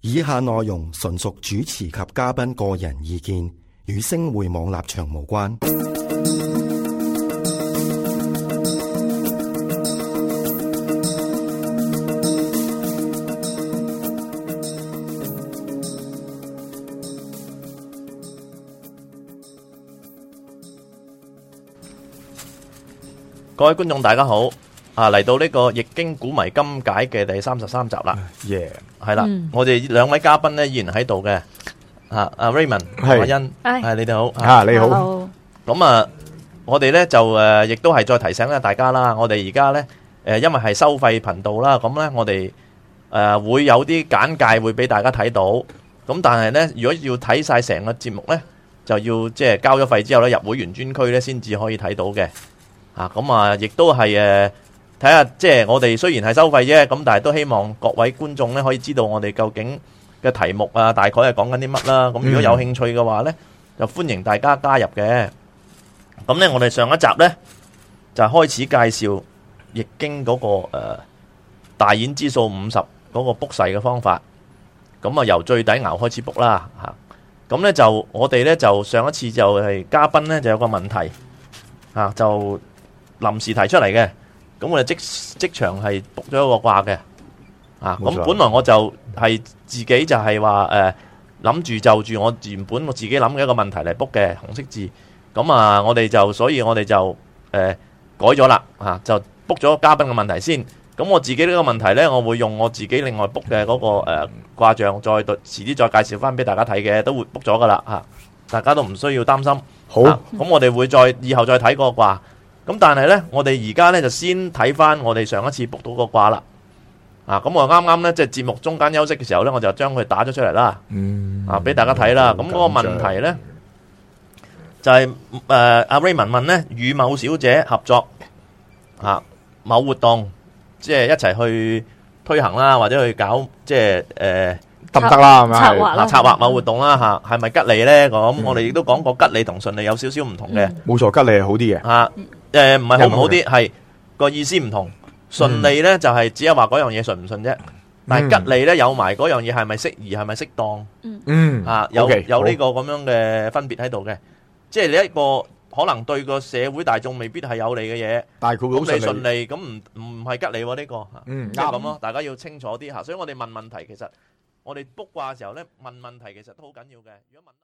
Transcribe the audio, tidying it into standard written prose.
以下內容純屬主持及嘉賓個人意見，與星匯網立場無關。 各位觀眾大家好，嚟到呢個易經古謎今解嘅第33集啦，係啦，我哋兩位嘉賓咧依然喺度嘅，阿 Raymond、阿欣，係你哋好， 你好。 咁我哋咧就亦都係再提醒咧大家啦，我哋而家咧因為係收費頻道啦，咁咧我哋會有啲簡介會俾大家睇到，咁但係咧如果要睇晒成個節目咧，就要即係交咗費之後咧入會員專區咧先至可以睇到嘅。亦都係睇下，即係我哋雖然係收費啫，咁但係都希望各位觀眾咧可以知道我哋究竟嘅題目大概係講緊啲乜啦。咁如果有興趣嘅話咧，就歡迎大家加入嘅。咁咧，我哋上一集咧就開始介紹易經嗰個大衍之數50嗰個卜筮嘅方法。咁由最底爻開始卜啦嚇。咁咧就我哋咧就上一次就係嘉賓咧就有個問題就臨時提出嚟嘅，咁我哋即場係卜咗一個卦嘅，咁本來我就係自己就係話諗住就住我原本我自己諗嘅一個問題嚟卜嘅紅色字，咁所以我哋就改咗啦，就卜咗嘉賓嘅問題先，咁我自己呢個問題呢，我會用我自己另外卜嘅嗰個卦象，遲啲再介紹翻俾大家睇嘅，都會卜咗噶啦嚇，大家都唔需要擔心。好，咁我哋會以後再睇嗰個卦。咁但係呢，我哋而家呢就先睇翻我哋上一次卜到個卦啦。咁我啱啱呢，即係節目中間休息嘅時候呢，我就將佢打咗出嚟啦。俾大家睇啦。咁嗰個問題呢，就係阿 Raymond 問呢，與某小姐合作某活動，即係一齊去推行啦，或者去搞即係得唔得啦？係咪策劃某活動啦嚇？係咪吉利呢？咁我哋亦都講過吉利同順利有少少唔同嘅。 冇錯，吉利係好啲嘅。 唔係好唔好啲，係個意思唔同。順利呢就係只係話嗰樣嘢順唔順啫，但係吉利呢有埋嗰樣嘢係咪適宜，係咪適當？有呢個咁樣嘅分別喺度嘅，即係你一個可能對個社會大眾未必係有利嘅嘢， 但係佢好順利，咁唔係吉利喎呢個，即係咁咯。大家要清楚啲嚇，所以我哋問問題，其實我哋卜卦嘅時候呢，問問題其實都好緊要嘅。如果問